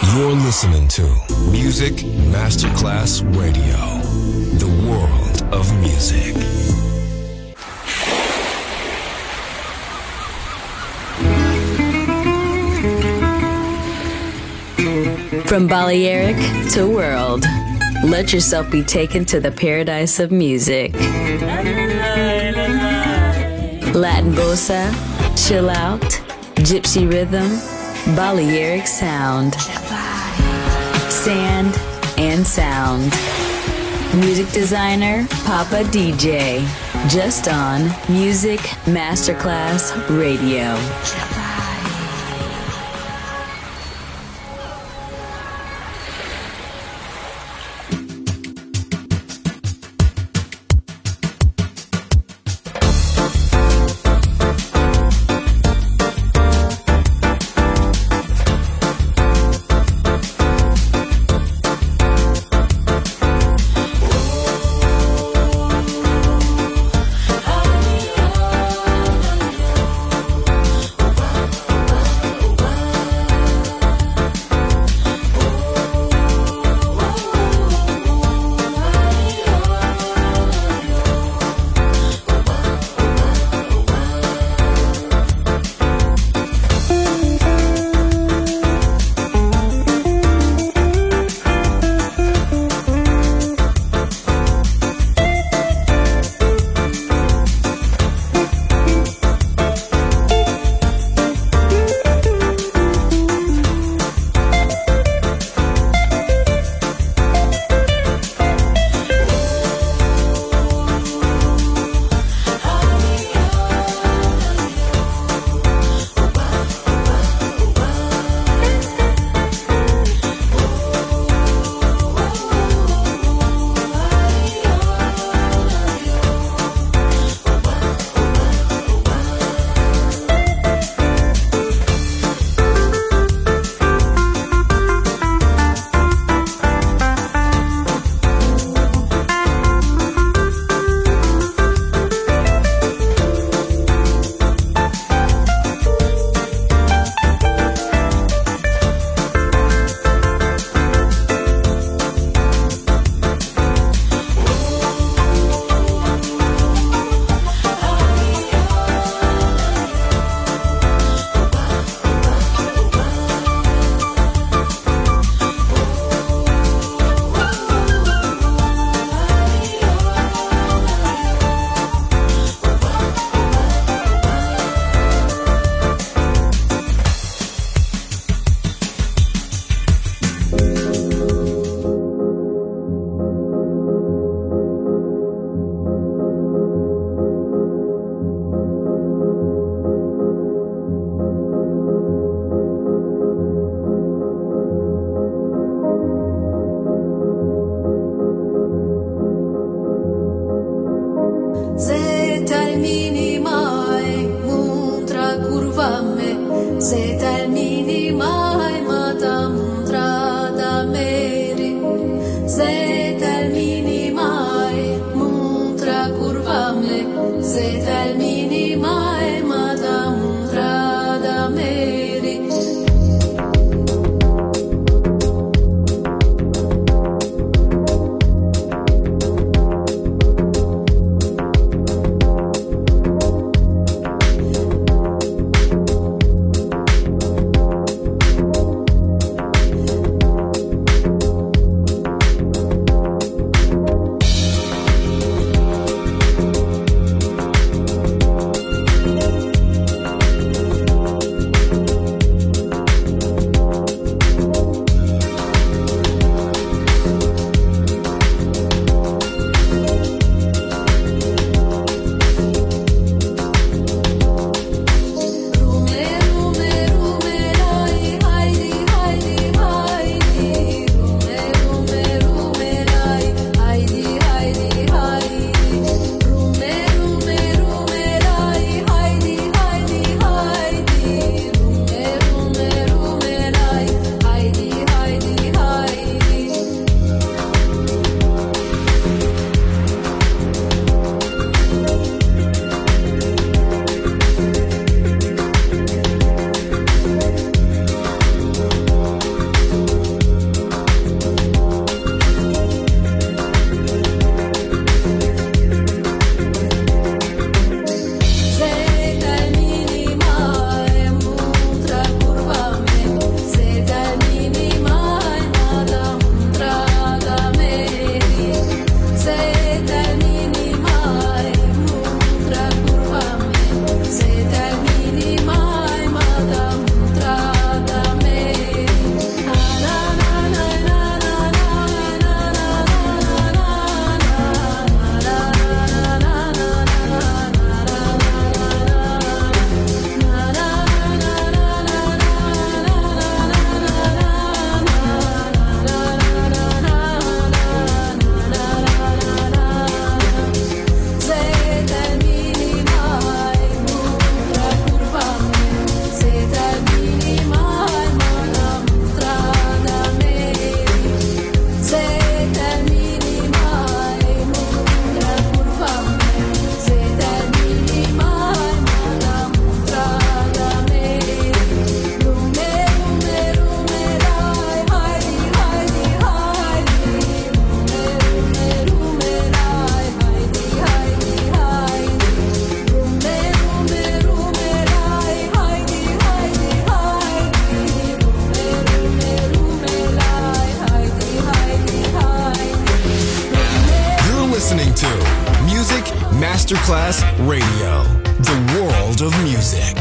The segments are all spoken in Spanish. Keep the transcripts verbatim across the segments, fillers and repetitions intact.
You're listening to Music Masterclass Radio, the world of music. From Balearic to world, let yourself be taken to the paradise of music. Latin bossa, chill out, gypsy rhythm, Balearic sound, sand and sound. Music designer, Papa D J, just on Music Masterclass Radio. Wow. Masterclass Radio, the world of music.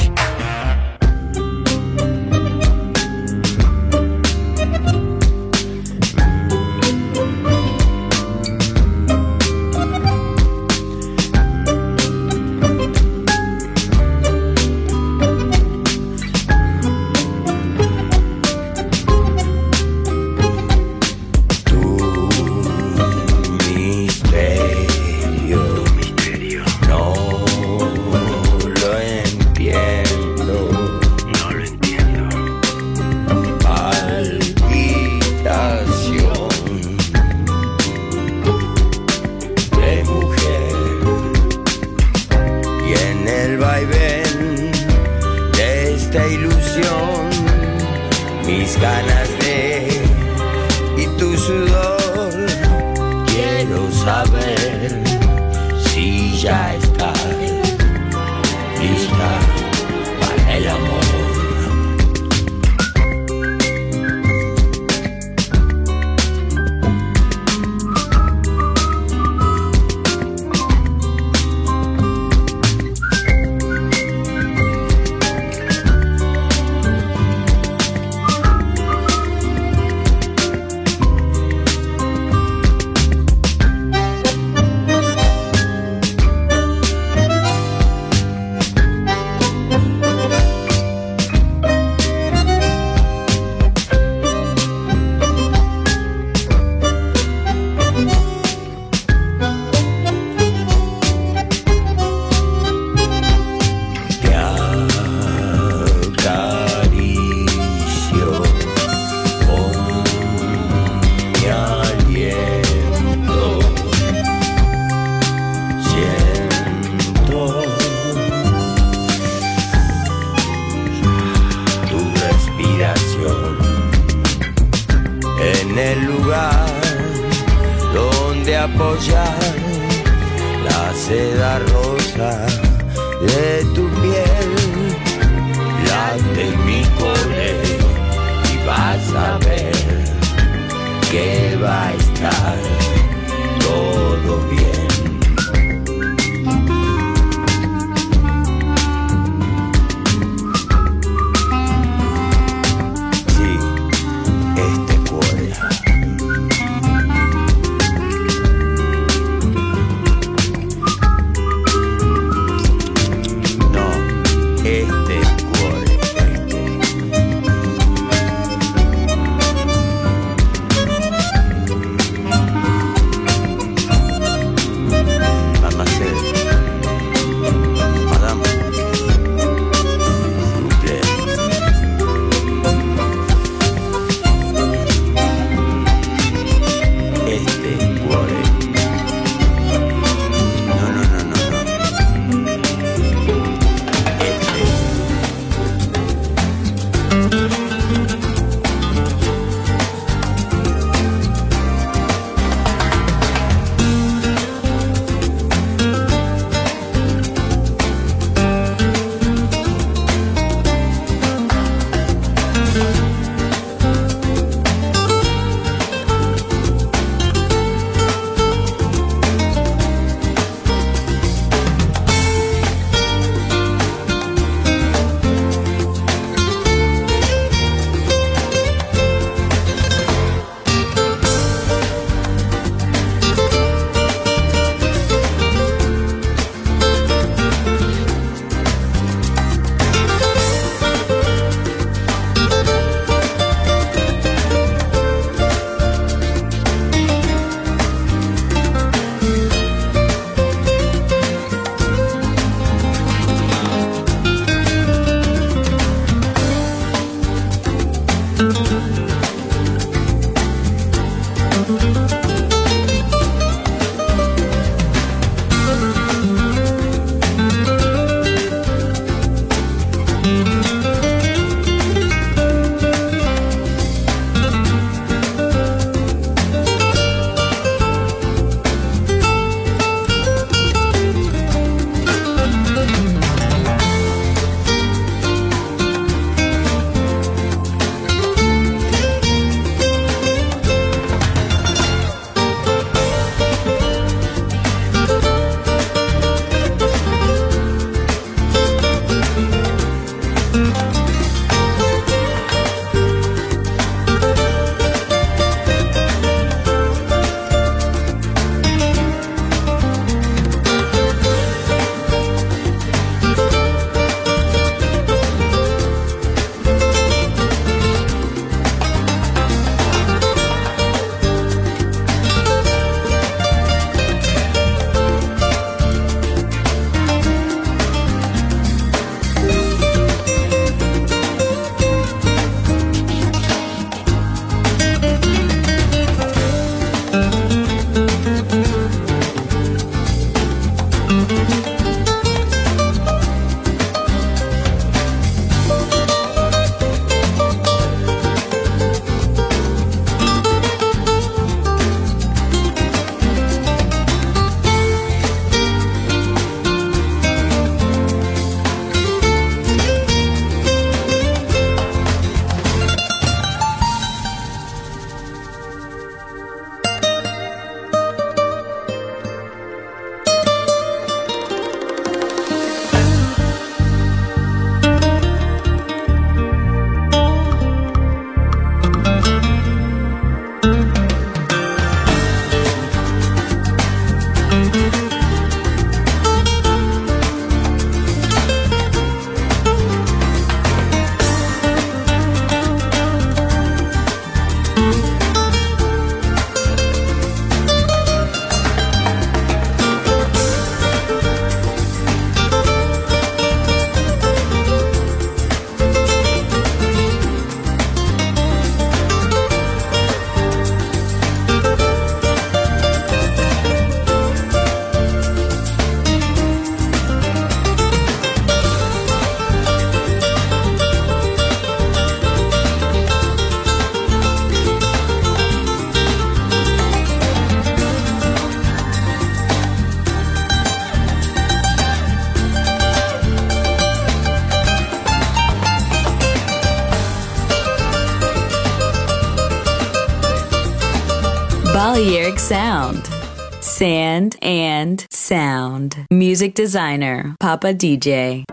Balearic Sound. Sand and sound. Music designer, Papa D J.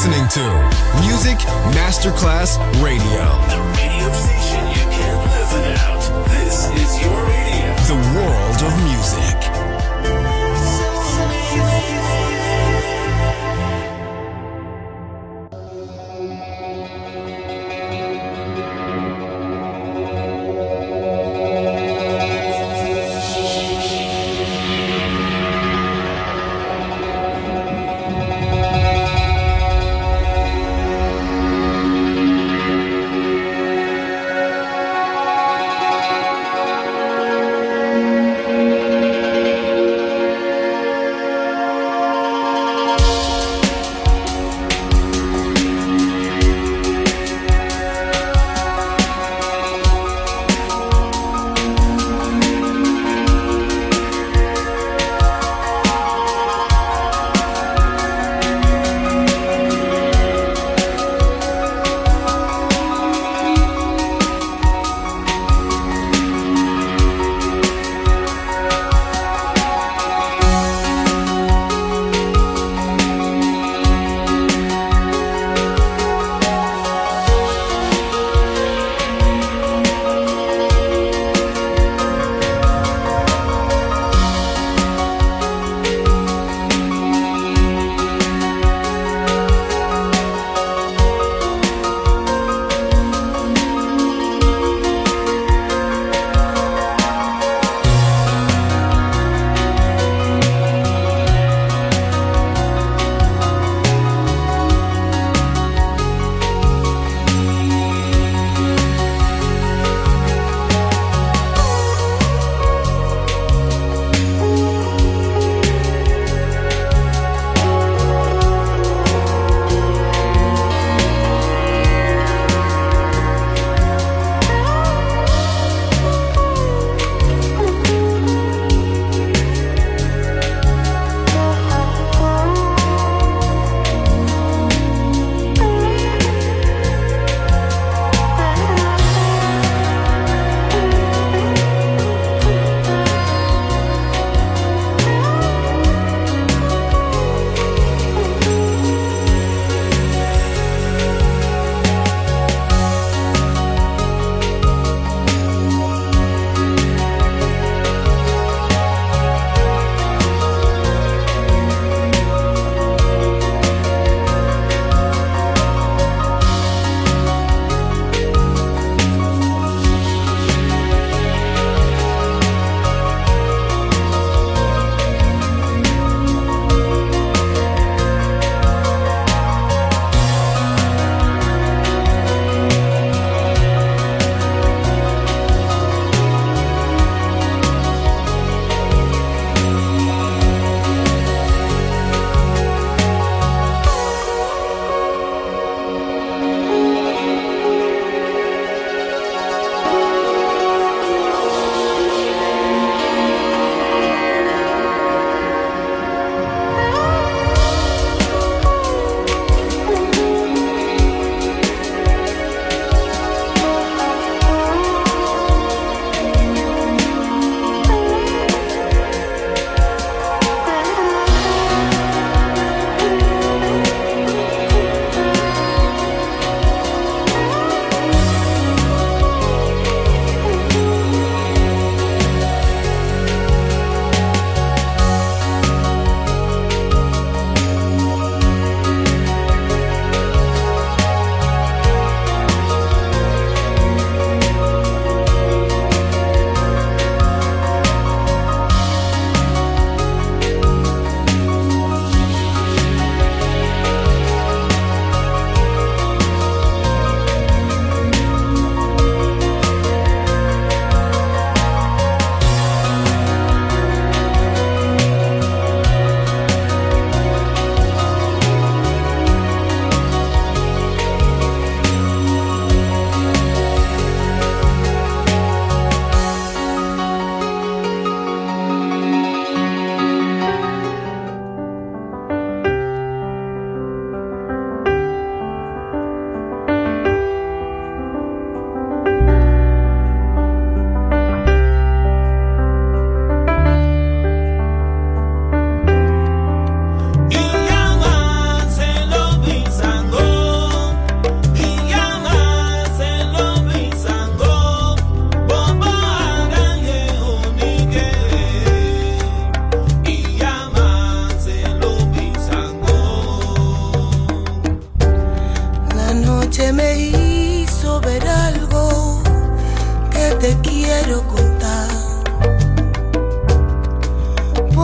listening to Music Masterclass Radio. The radio station you can't live without. This is your radio. The world of music.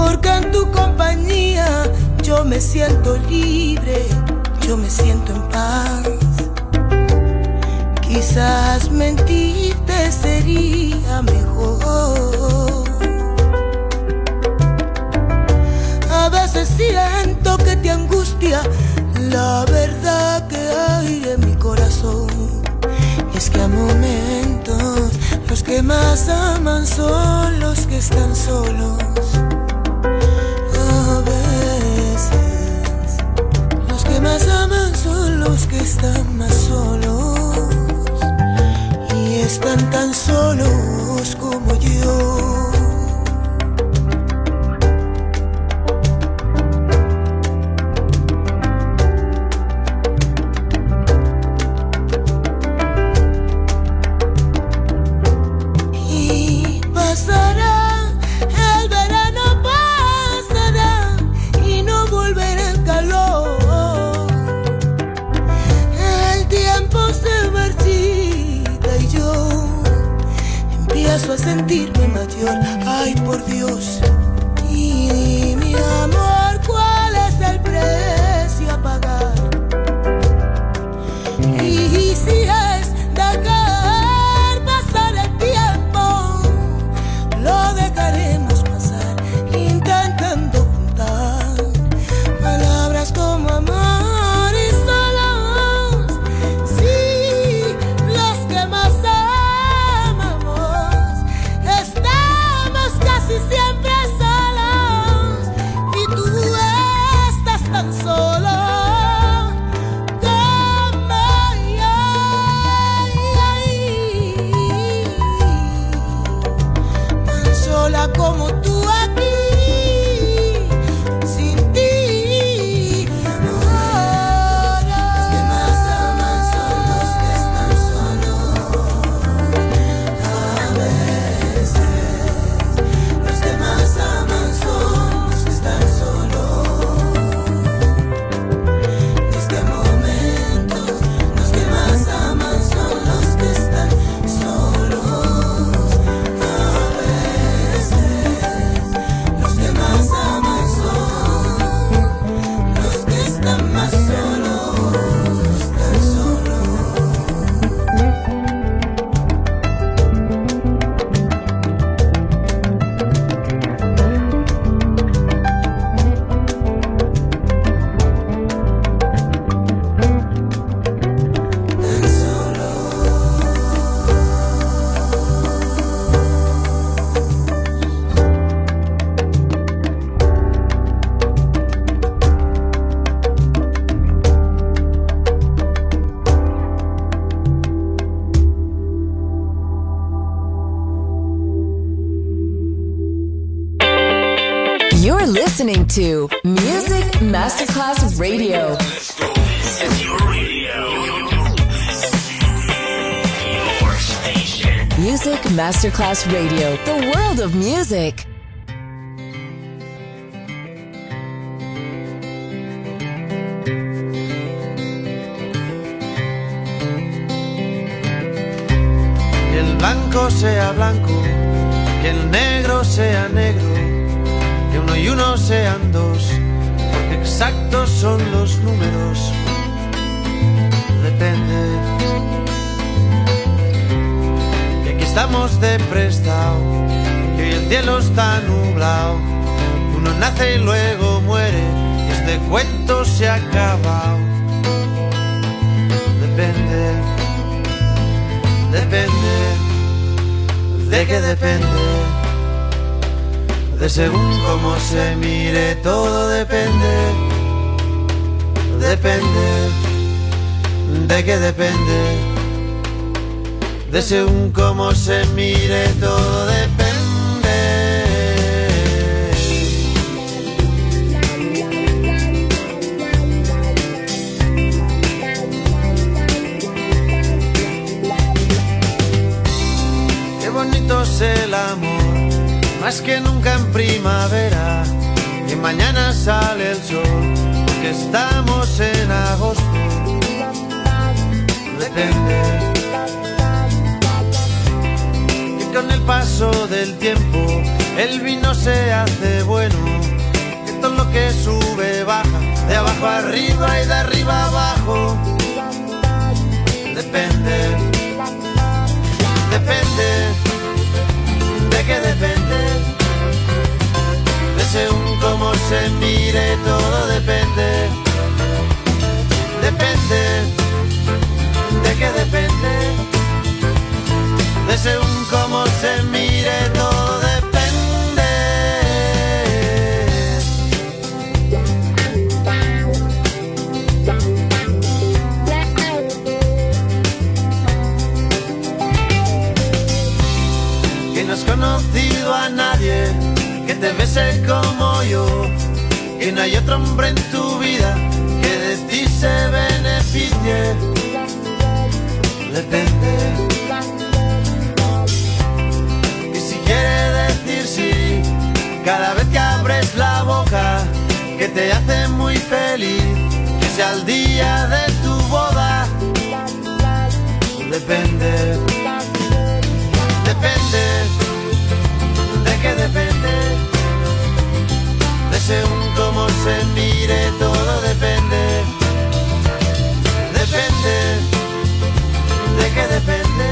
porque en tu compañía yo me siento libre, yo me siento en paz. Quizás mentirte sería mejor. A veces siento que te angustia la verdad que hay en mi corazón. Y es que a momentos los que más aman son los que están solos. A veces los que más aman son los que están más solos. Y están tan solos como yo. A sentirme mayor, ay por Dios. Y mi amor, ¿cuál es el precio a pagar? Y si es dejar pasar el tiempo, lo dejaremos pasar, intentando juntar palabras como amor y solos. Sí, los que más siempre solos y tú estás tan solo como yo, tan sola como tú aquí, sin ti. Ahora los que más aman son los que están solos. A veces los que más aman son los que están solos. En este momento, los que más aman son los que están solos. A veces, los que más aman son los que están más solos, están solos. You're listening to Music Masterclass Radio. Let's go. This is your radio. Your station. Music Masterclass Radio, the world of music. Que el blanco sea blanco, que el negro sea negro, que uno y uno sean dos, porque exactos son los números. Depende. Que aquí estamos de prestado, que hoy el cielo está nublado. Uno nace y luego muere, y este cuento se ha acabado. Depende. Depende. ¿De qué depende? De según cómo se mire, todo depende. Depende. ¿De qué depende? De según cómo se mire, todo depende. Qué bonito es el amor, más que nunca en primavera, y mañana sale el sol, porque estamos en agosto. Depende. Y con el paso del tiempo, el vino se hace bueno, que todo lo que sube baja, de abajo arriba y de arriba abajo. Depende, depende, ¿de qué depende? De según cómo se mire todo depende. Depende, ¿de qué depende? De según cómo se mire todo depende. Que no has conocido a nadie que te bese como yo, que no hay otro hombre en tu vida que de ti se beneficie. Depende. Y si quiere decir sí, cada vez que abres la boca, que te hace muy feliz, que sea el día de tu boda. Depende. Depende. ¿De qué depende? De según cómo se mire todo depende. Depende. ¿De qué depende?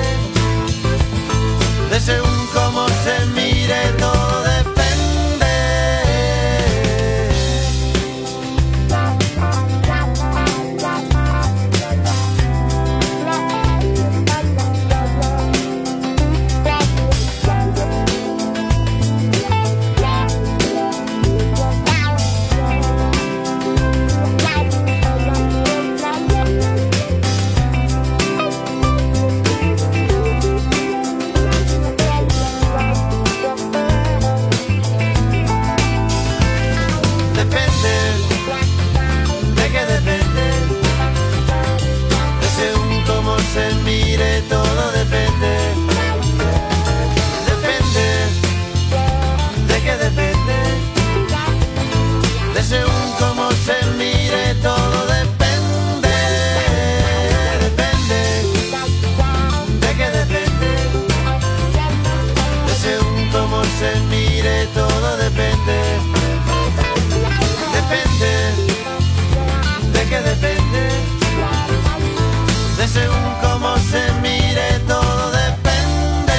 De según cómo se mire todo depende. Se mire todo depende. Depende. ¿De qué depende? De según cómo se mire todo depende. Depende. ¿De qué depende? De según cómo se mire todo depende. Depende. ¿De qué depende? De según cómo se mire todo depende.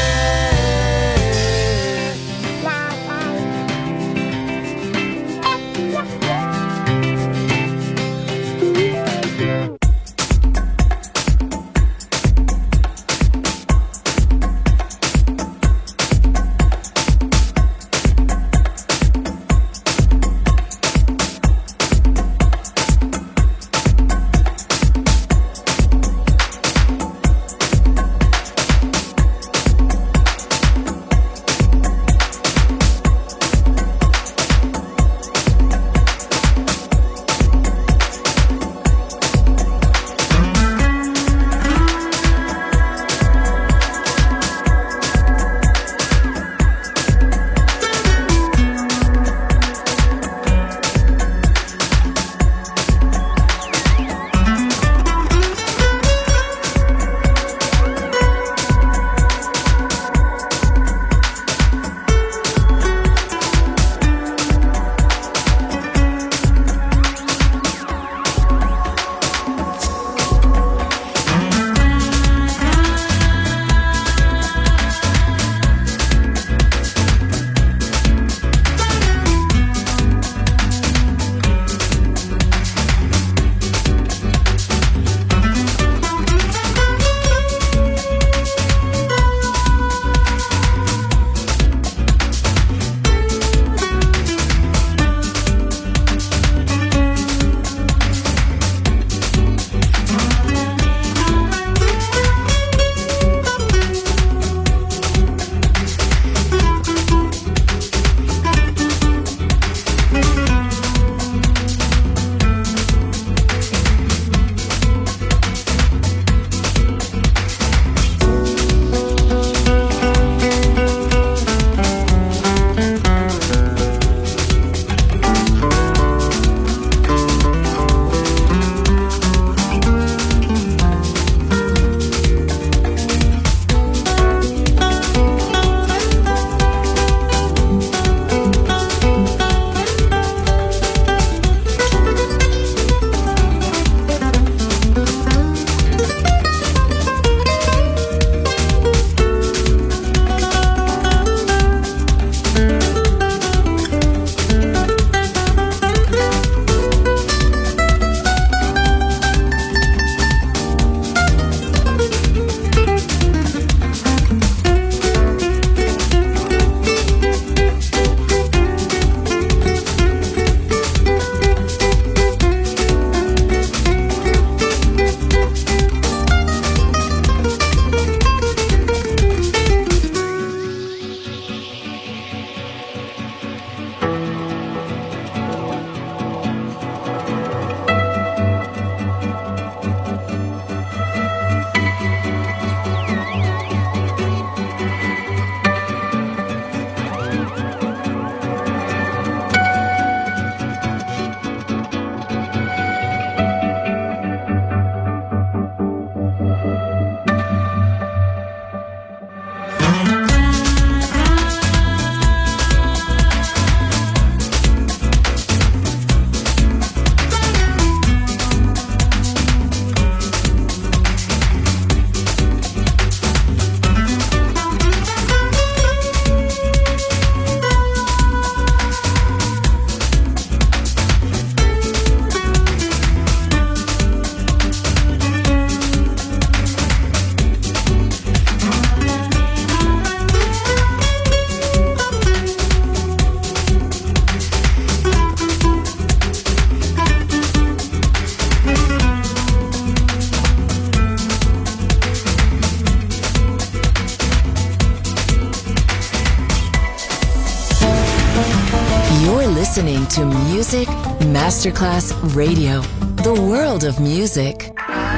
to Music Masterclass Radio, the world of music.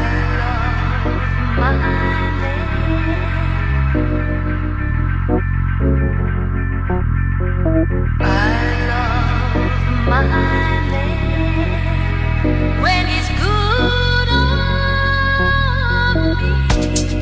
When it's good on me.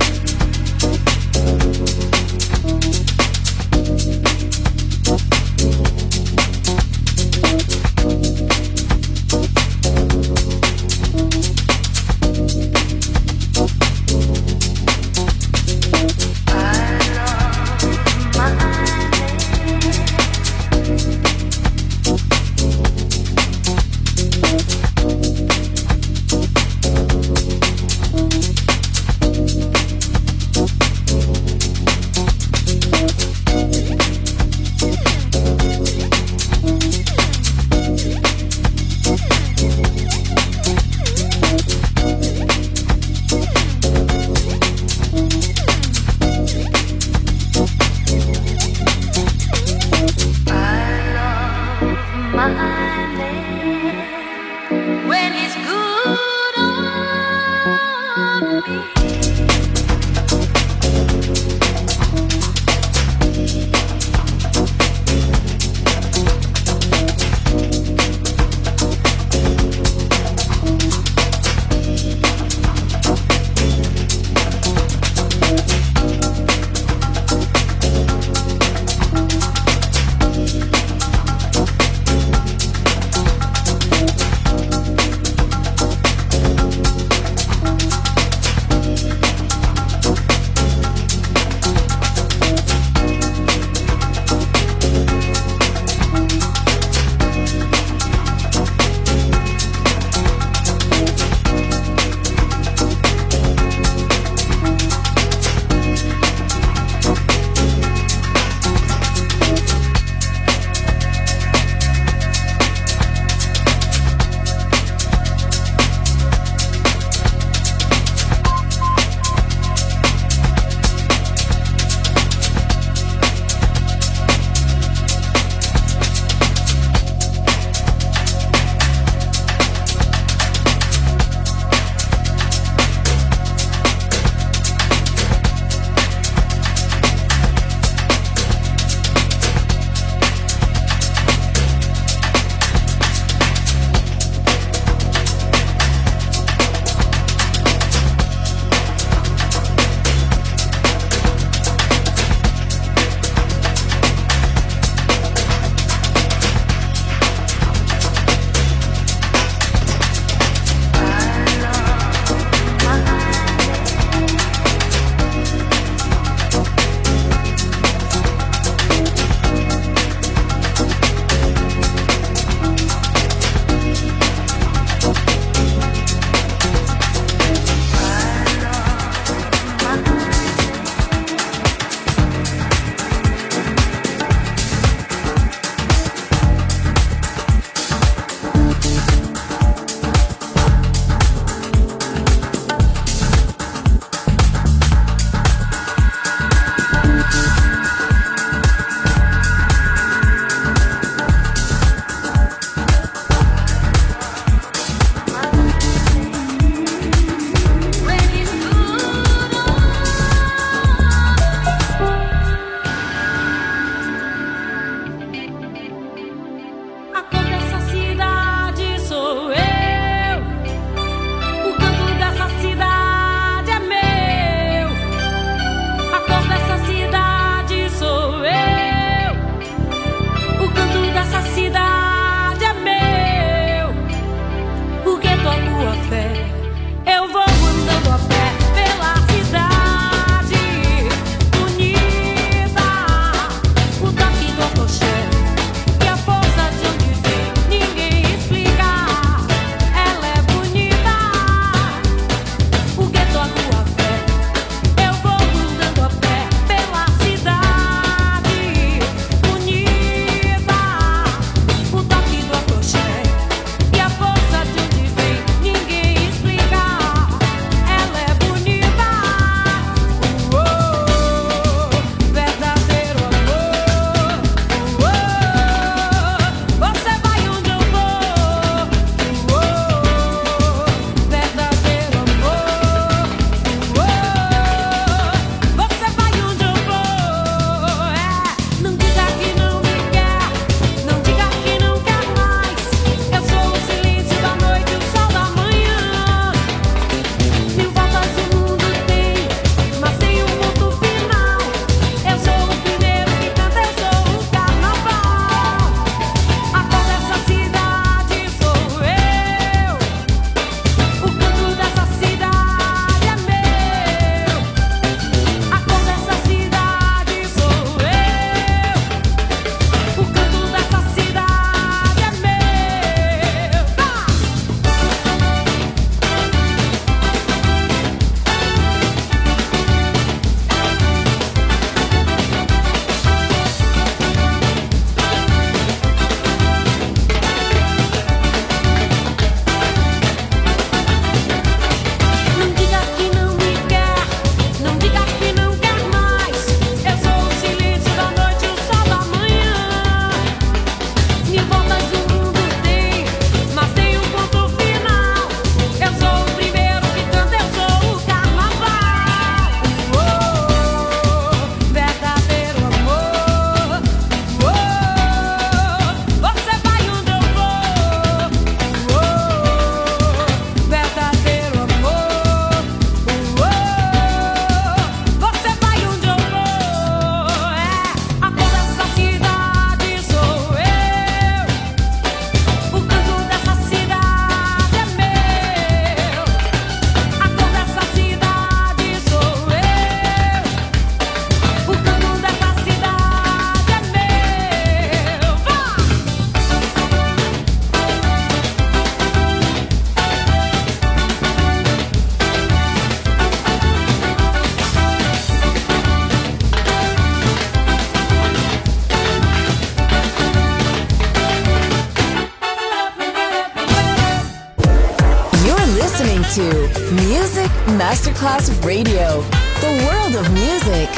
to Music Masterclass Radio, the world of music.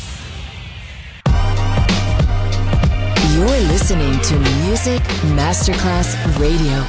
You're listening to Music Masterclass Radio.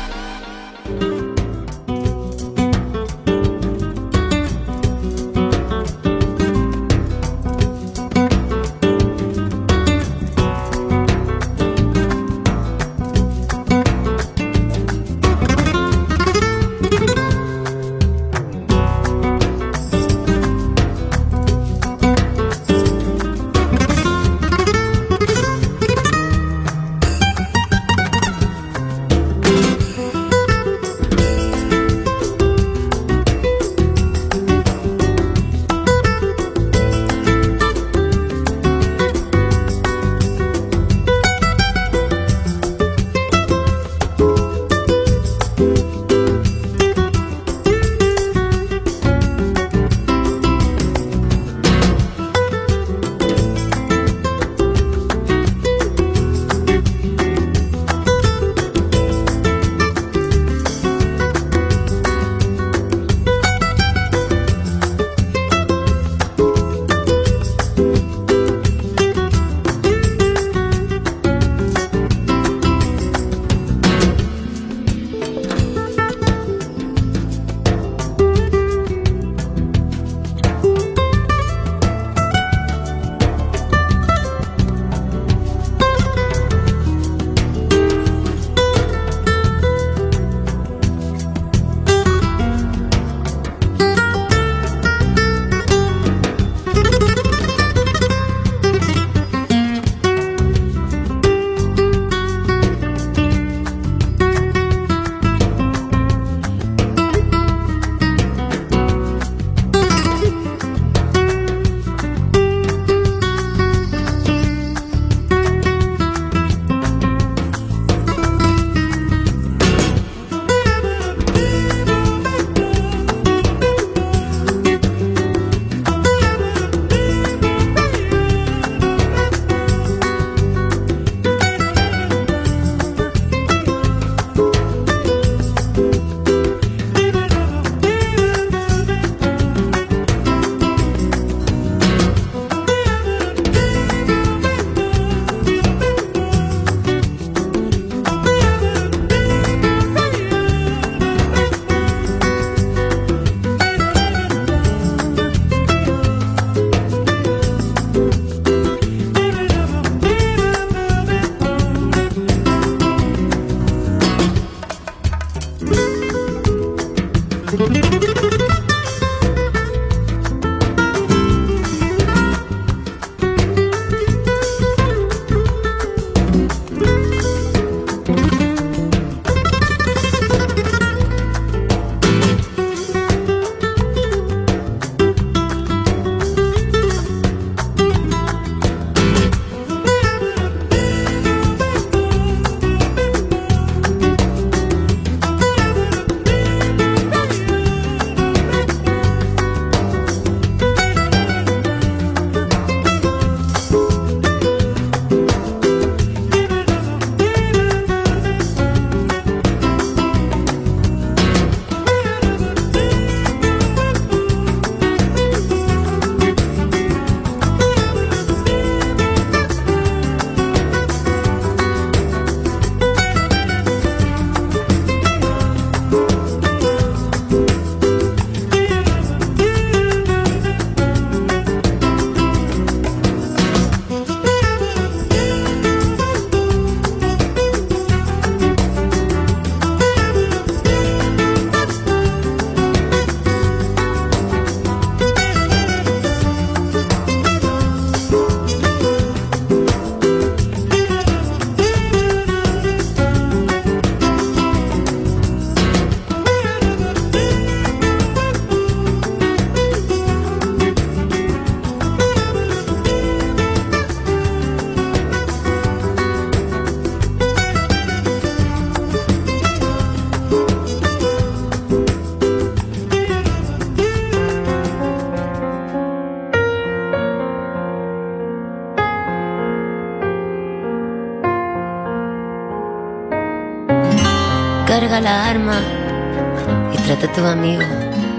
Carga la arma y trata a tu amigo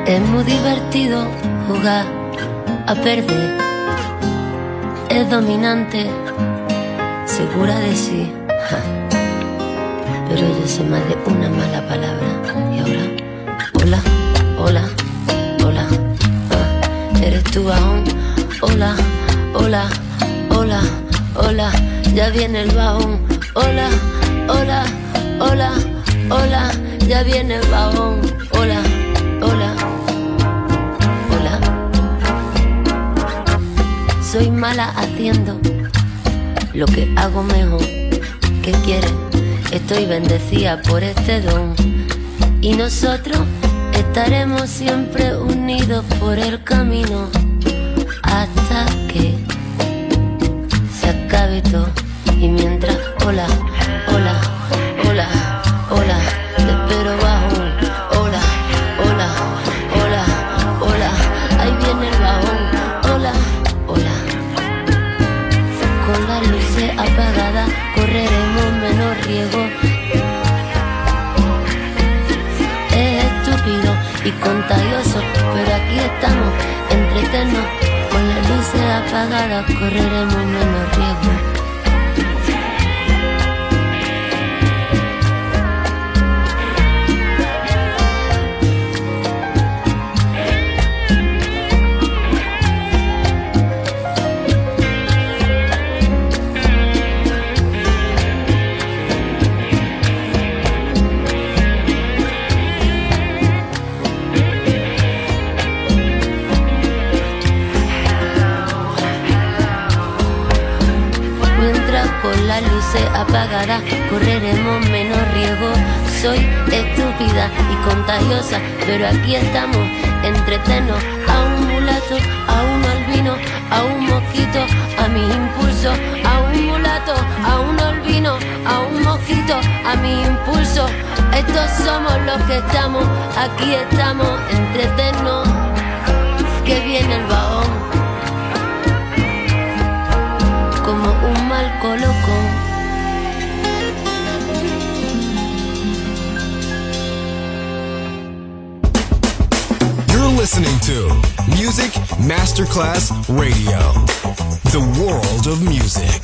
Es muy divertido jugar a perder. Es dominante, segura de sí. Ja. Pero yo sé más de una mala palabra. Y ahora, hola, hola, hola. Ah, ¿eres tú, bajón? Hola, hola, hola, hola. Ya viene el bajón. Hola, hola, hola, hola. Ya viene el bajón. Hola, hola, hola. Soy mala haciendo lo que hago mejor. ¿Qué quieres? Estoy bendecida por este don. Y nosotros estaremos siempre unidos por el camino hasta que se acabe todo. Y mientras, hola, hola, hola, hola, te espero bajón. Hola, hola, hola, hola, ahí viene el bajón. Hola, hola. Con las luces apagadas correremos menos riesgo. Es estúpido y contagioso, pero aquí estamos, entretenos. Con las luces apagadas correremos menos riesgo. Con las luces apagadas correremos menos riesgo. Soy estúpida y contagiosa, pero aquí estamos, entretenos. A un mulato, a un albino, a un mosquito, a mis impulsos. A un mulato, a un albino, a un mosquito, a mis impulsos. Estos somos los que estamos, aquí estamos, entretenos. Que viene el bajón como un mal colocón. You're listening to Music Masterclass Radio, the world of music.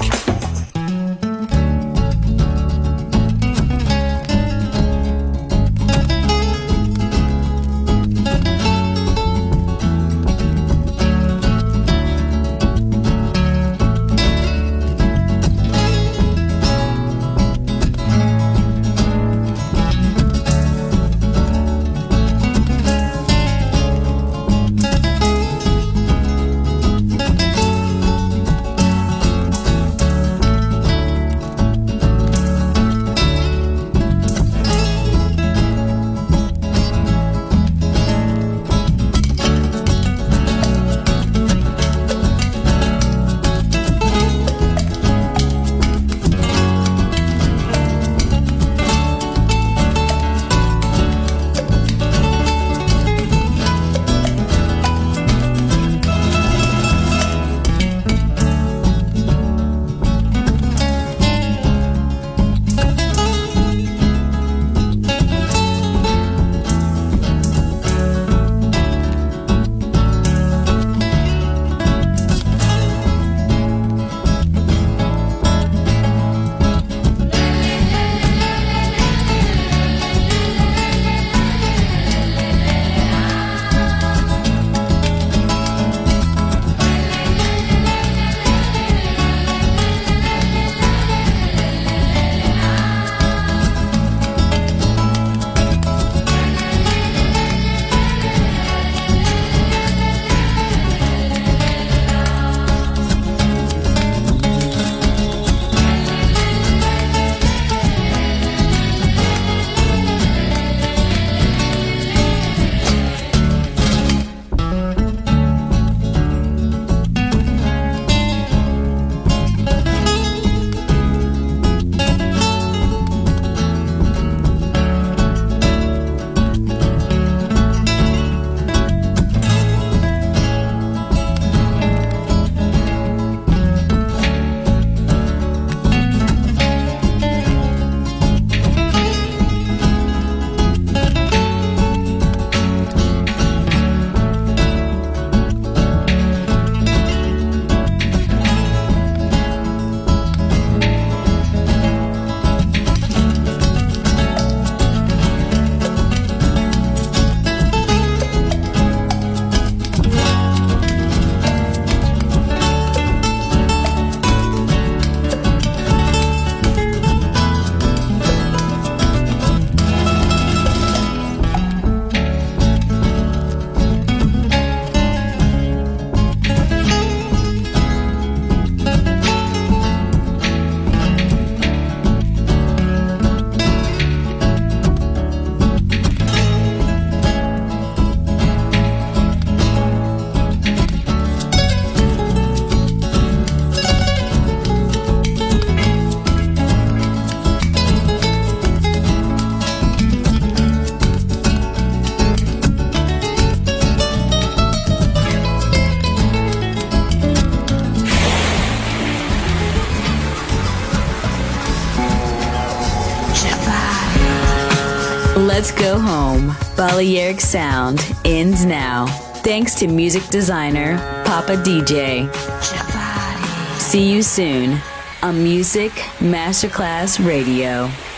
Let's go home. Balearic Sound ends now. Thanks to music designer Papa D J. See you soon on Music Masterclass Radio.